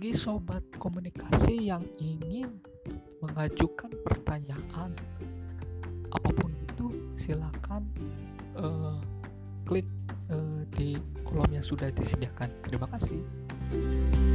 bagi sobat komunikasi yang ingin mengajukan pertanyaan apapun itu, silakan klik di kolom yang sudah disediakan. Terima kasih.